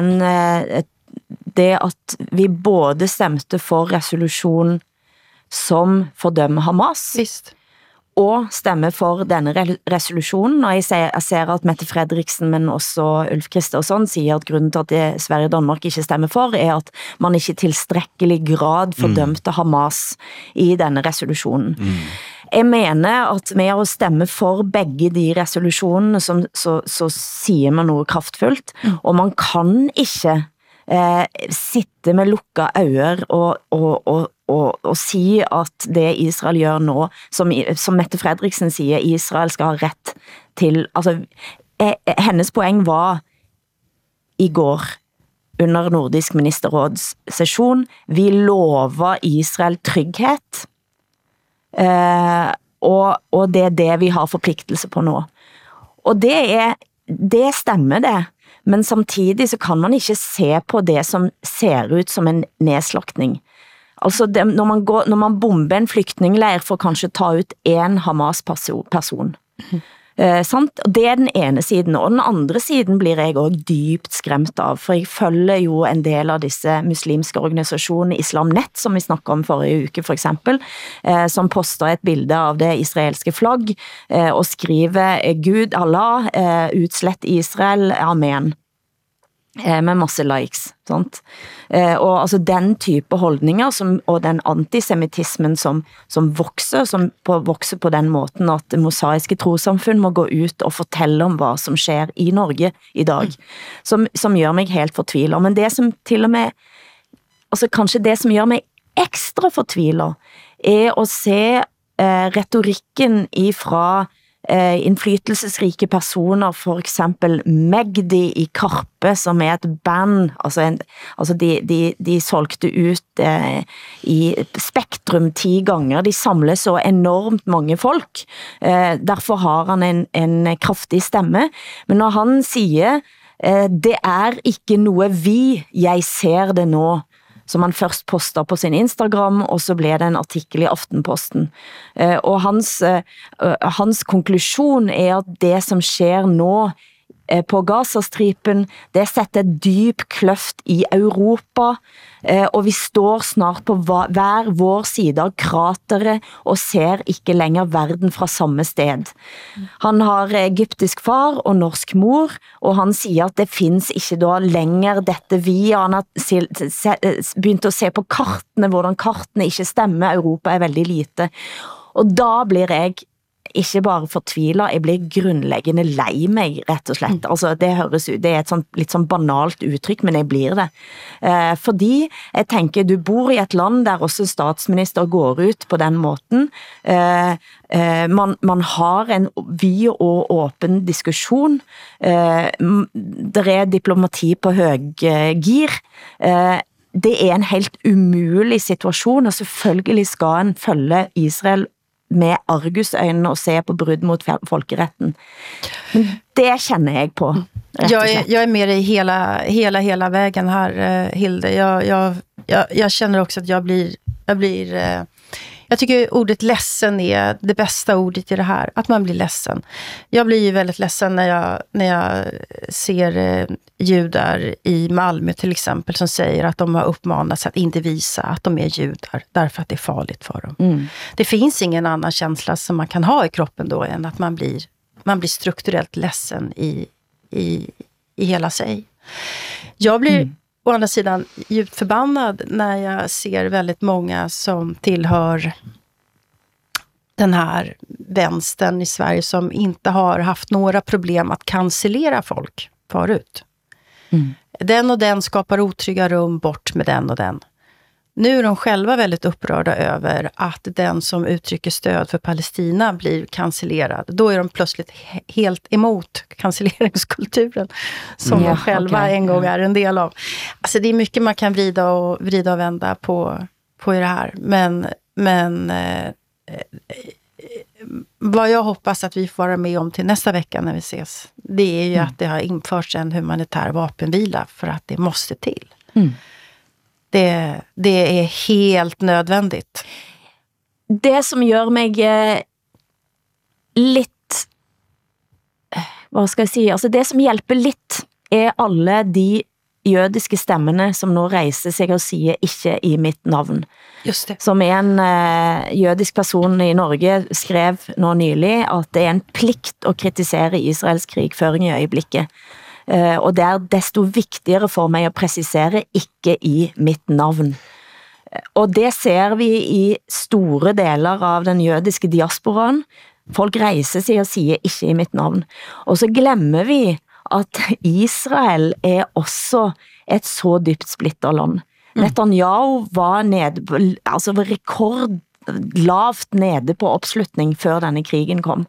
det at vi både stemte for resolusjon som fordømmer Hamas, Visst. og stemme for denne resolusjonen. Og jeg ser at Mette Frederiksen, men også Ulf Kristersson, sier at grunnen til at Sverige og Danmark ikke stemmer for, er at man ikke i tilstrekkelig grad fordømte Hamas i denne resolusjonen. Jeg mener at med å stemme for begge de resolusjonene, så sier man noe kraftfullt, og man kan ikke sitte med lukka øyne og si at det Israel gjør nå, som Mette Frederiksen sier, Israel skal ha rett til, altså, hennes poeng var i går under Nordisk ministerrådssesjon, vi lover Israel trygghet, og det det vi har forpliktelse på nå. Og det stemmer det, men samtidig så kan man ikke se på det som ser ut som en nedslaktning. Altså når man bomber en flyktningleir for kanskje ta ut en Hamas-person. Sant? Det den ene siden, og den andre siden blir jeg også dypt skremt av, for jeg følger jo en del av disse muslimske organisasjonene, Islam Net, som vi snakket om forrige uke for eksempel, som poster et bilde av det israelske flagg, og skriver Gud, Allah, utslett Israel, Amen. Med masse likes, sant? Og altså den type holdninger og den antisemitismen som vokser på den måten at det mosaiske trossamfunn må gå ut og fortelle om hva som skjer i Norge i dag, som gjør meg helt fortvilet. Men det som til og med, altså kanskje det som gjør meg ekstra fortvilet, er å se retorikken ifra innflytelsesrike personer, for eksempel Megdi i Karpe, som et band, altså de solgte ut i Spektrum 10 ganger, de samler så enormt mange folk, derfor har han en kraftig stemme, men når han sier, det ikke noe jeg ser det nå, som han først postet på sin Instagram, og så ble det en artikkel i Aftenposten. Og hans konklusjon at det som skjer nå på Gazastripen, det setter dyp kløft i Europa, og vi står snart på hver vår side av krateret, og ser ikke lenger verden fra samme sted. Han har egyptisk far og norsk mor, og han sier at det finnes ikke da lenger dette han har begynt å se på kartene, hvordan kartene ikke stemmer, Europa veldig lite. Og da blir jeg ikke bare fortvilet, jeg blir grunnleggende lei meg, rett og slett. Altså, det høres ut, det et litt sånn banalt uttrykk, men jeg blir det. Fordi jeg tenker, du bor i et land der også statsminister går ut på den måten. Man har en vid og åpen diskusjon. Det diplomati på høygir. Det en helt umulig situasjon, og selvfølgelig skal en følge Israel med argusøjnene og se på brudd mot folkeretten. Men det känner jag på. Jag med dig hela vägen här, Hilde. Jag känner också att jag blir jag tycker ordet ledsen är det bästa ordet i det här. Att man blir ledsen. Jag blir ju väldigt ledsen när jag ser judar i Malmö till exempel som säger att de har uppmanats att inte visa att de är judar därför att det är farligt för dem. Det finns ingen annan känsla som man kan ha i kroppen då än att man blir strukturellt ledsen i hela sig. Jag blir å andra sidan djupt förbannad när jag ser väldigt många som tillhör den här vänstern i Sverige som inte har haft några problem att cancellera folk förut. Den och den skapar otrygga rum, bort med den och den. Nu är de själva väldigt upprörda över att den som uttrycker stöd för Palestina blir cancellerad. Då är de plötsligt helt emot cancelleringskulturen som de själva en gång är en del av. Alltså det är mycket man kan vrida och vända på i det här. Men vad jag hoppas att vi får vara med om till nästa vecka när vi ses, det är ju att det har införts en humanitär vapenvila för att det måste till. Det är helt nödvändigt. Det som gör mig lidt, vad ska jag säga, alltså det som hjälper lidt är alla de jødiske stemmene som nu reiser sig og siger ikke i mitt navn. Just det. Som en jødisk person i Norge skrev nå nylig, at det er en plikt at kritisere Israels krigføring i øjeblikket. Og det er desto vigtigere for mig at præcisere ikke i mitt navn. Og det ser vi i store deler av den jødiske diasporaen. Folk reiser sig og siger ikke i mitt navn. Og så glemmer vi at Israel er også et så dybt splittet land. Netanyahu var nede, altså rekordlavt nede på opslutning før denne krigen kom.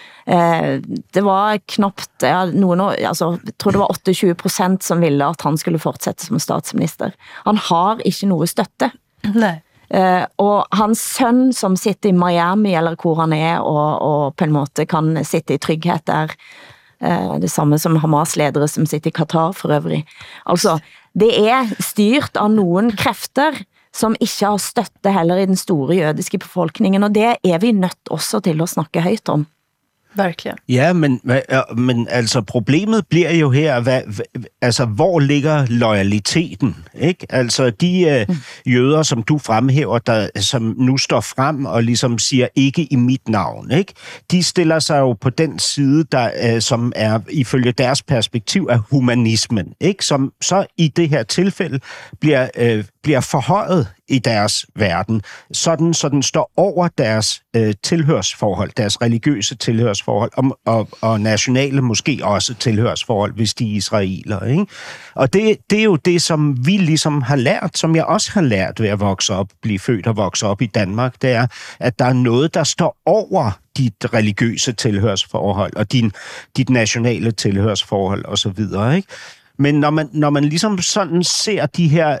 Det var knapt, jeg tror det var 28% som ville at han skulle fortsætte som statsminister. Han har ikke noe støtte. Nej. Og hans søn som sitter i Miami, eller hvor han er, og på en måte kan sitte i trygghet der, det samme som Hamas-ledere som sitter i Qatar for øvrig. Altså, det er styrt av nogen krefter, som ikke har støtte heller i den store jødiske befolkningen, og det er vi nødt også til at snakke højt om. Verkligen. Ja, men altså problemet bliver jo her, altså hvor ligger loyaliteten, ikke? Altså de jøder, som du fremhæver, som nu står frem og ligesom siger ikke i mit navn, ikke? De stiller sig jo på den side, der som er ifølge deres perspektiv af humanismen, ikke? Som så i det her tilfælde bliver forhøjet i deres verden, sådan så den står over deres tilhørsforhold, deres religiøse tilhørsforhold, og nationale måske også tilhørsforhold, hvis de er israeler, ikke? Og det er jo det, som vi ligesom har lært, som jeg også har lært ved at vokse op, blive født og vokse op i Danmark, det er, at der er noget, der står over dit religiøse tilhørsforhold, og dit nationale tilhørsforhold, og så videre, ikke? Men når man ligesom sådan ser de her,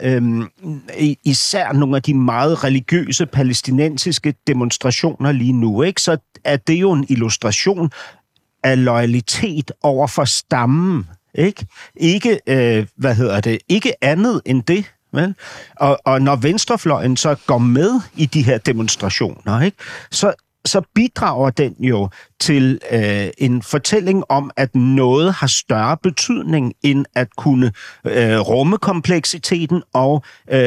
især nogle af de meget religiøse palæstinensiske demonstrationer lige nu, ikke, så er det jo en illustration af loyalitet over for stammen, ikke? Ikke, ikke andet end det. Vel? Og når venstrefløjen så går med i de her demonstrationer, ikke, så bidrager den jo til en fortælling om, at noget har større betydning end at kunne rumme kompleksiteten og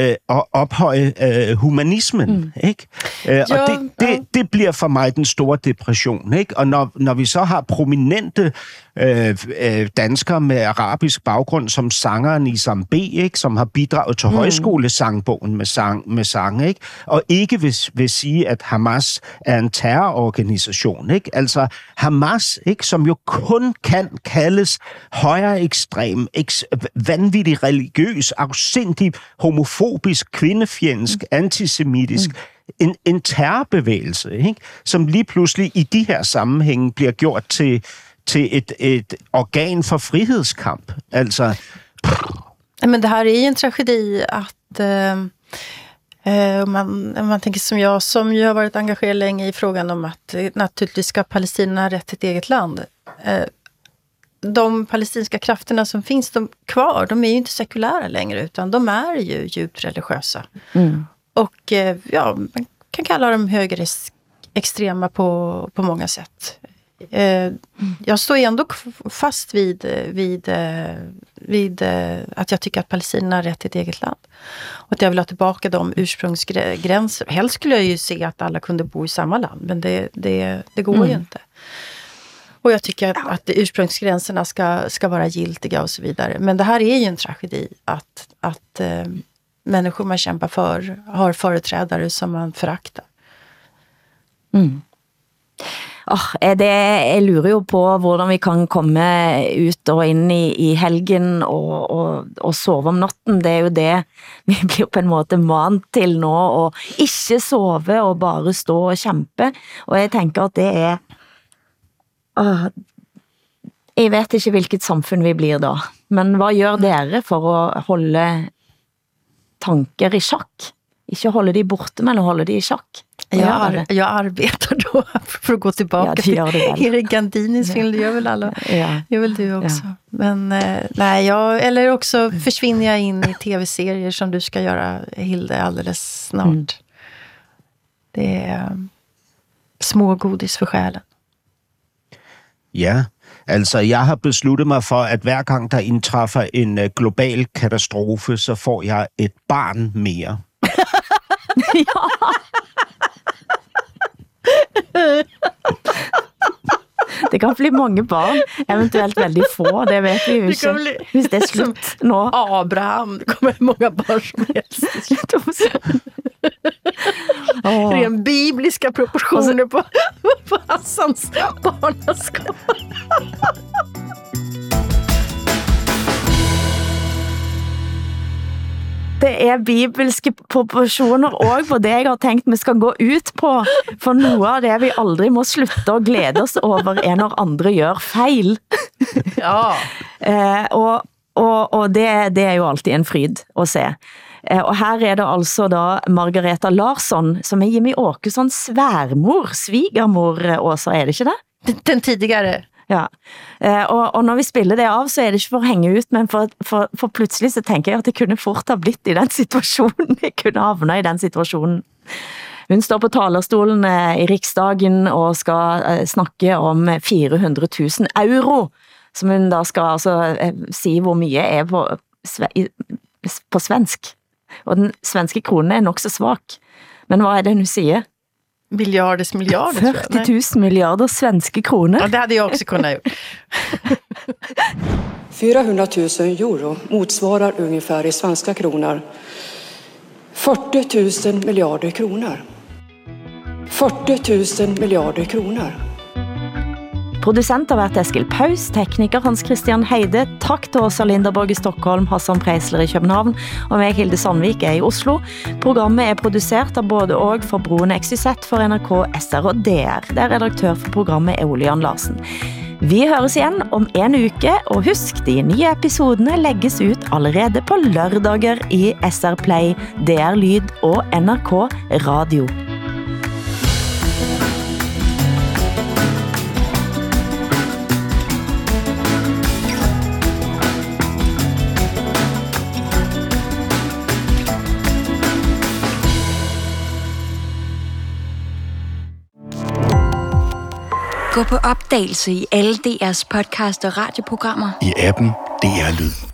ophøje humanismen, ikke? Og det bliver for mig den store depression, ikke? Og når vi så har prominente danskere med arabisk baggrund, som sangeren Isam B, ikke? Som har bidraget til højskolesangbogen med sang, ikke? Og ikke vil sige, at Hamas er en terrororganisation, ikke? Altså Hamas, ikke, som jo kun kan kaldes højere ekstrem, vanvittig religiøs, afsindig, homofobisk, kvindefjendsk, antisemitisk, en terrorbevægelse, ikke, som lige pludselig i de her sammenhænge bliver gjort til et organ for frihedskamp. Altså. Men det här är ju en tragedi att man tänker som jag, som ju har varit engagerad länge i frågan om att naturligtvis ska Palestina ha rätt till ett eget land. De palestinska krafterna som finns kvar, de är ju inte sekulära längre, utan de är ju djupt religiösa. Och ja, man kan kalla dem högerextrema på många sätt. Jag står ändå fast vid att jag tycker att Palestina har rätt till ett eget land. Och att jag vill ha tillbaka de ursprungsgränser. Helst skulle jag ju se att alla kunde bo i samma land, men det går ju inte. Och jag tycker att ursprungsgränserna ska vara giltiga och så vidare. Men det här är ju en tragedi att människor man kämpar för har företrädare som man föraktar. Jeg lurer jo på hvordan vi kan komme ut og inn i helgen og sove om natten. Det er jo det vi blir på en måte vant til nå, å ikke sove og bare stå og kjempe. Og jeg tenker at det er... Jeg vet ikke hvilket samfunn vi blir da. Men hvad gør dere for å holde tanker i sjakk? Ikke holde de borte, men holde de i sjakk? Jag arbetar då för att gå tillbaka till Erik Gandinis film. Det gör väl alla. Gör väl du också. Men nej, eller också försvinner jag in i tv-serier som du ska göra, Hilde, alldeles snart. Det är små godis for sjælen. Ja, altså jeg har besluttet mig for, at hver gang der indtræffer en global katastrofe, så får jeg et barn mere. Ja. Det kan bli mange barn, eventuelt veldig få, det vet vi jo ikke. Hvis det er slutt nå. Abraham, det kommer många barn som helst. Ren bibliska proportioner på Hassans barnaskap. Det er bibelske proporsjoner også på det jeg har tenkt vi skal gå ut på, for noe av det vi aldri må slutte å glede oss over når andre gjør feil. Ja. Og det er jo alltid en fryd å se. Og her er det altså da Margareta Larsson, som er Jimmy Åkessons sværmor, svigermor, Åsa, er det ikke det? Den tidigare. Ja, og når vi spiller det av, så er det ikke for å henge ut, men for plutselig så tenker jeg at det kunne fort ha blitt i den situasjonen, jeg kunne havne i den situasjonen. Hun står på talerstolen i Riksdagen og skal snakke om 400 000 euro, som hun da skal altså si hvor mye er på svensk. Og den svenske kronen er nok så svak. Men hva er det hun sier? Miljarder. 40 000 miljarder svenske kroner. Ja, det hade jag också kunnat gjort. 400 000 euro motsvarar ungefär i svenska kronor 40 000 miljarder kronor. 40 000 miljarder kronor. Producent har vært Eskil Paus, tekniker Hans Christian Heide, takk til Åsa Linderborg i Stockholm, Hassan Preisler i København, og meg Hilde Sandvik i Oslo. Programmet er produsert av både og for Broen XYZ for NRK, SR og DR, der redaktør for programmet er Ole Jan Larsen. Vi høres igjen om en uke, og husk, de nye episodene legges ut allerede på lørdager i SR Play, DR Lyd og NRK Radio. Gå på opdagelse i alle DR's podcast og radioprogrammer. I appen DR Lyd.